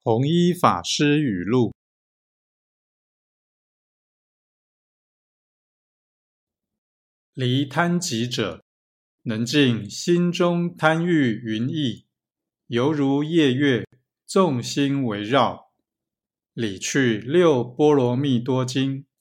弘一法师语录：离贪急者，能尽心中贪欲云翳，犹如夜月，众星围绕。理去六波罗蜜多经。